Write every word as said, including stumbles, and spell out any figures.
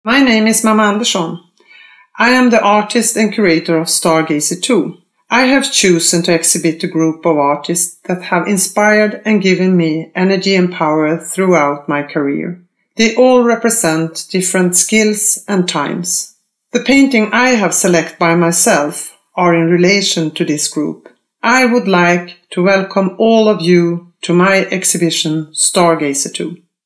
My name is Mamma Andersson. I am the artist and curator of Stargazer two. I have chosen to exhibit a group of artists that have inspired and given me energy and power throughout my career. They all represent different skills and times. The painting I have selected by myself are in relation to this group. I would like to welcome all of you to my exhibition Stargazer two.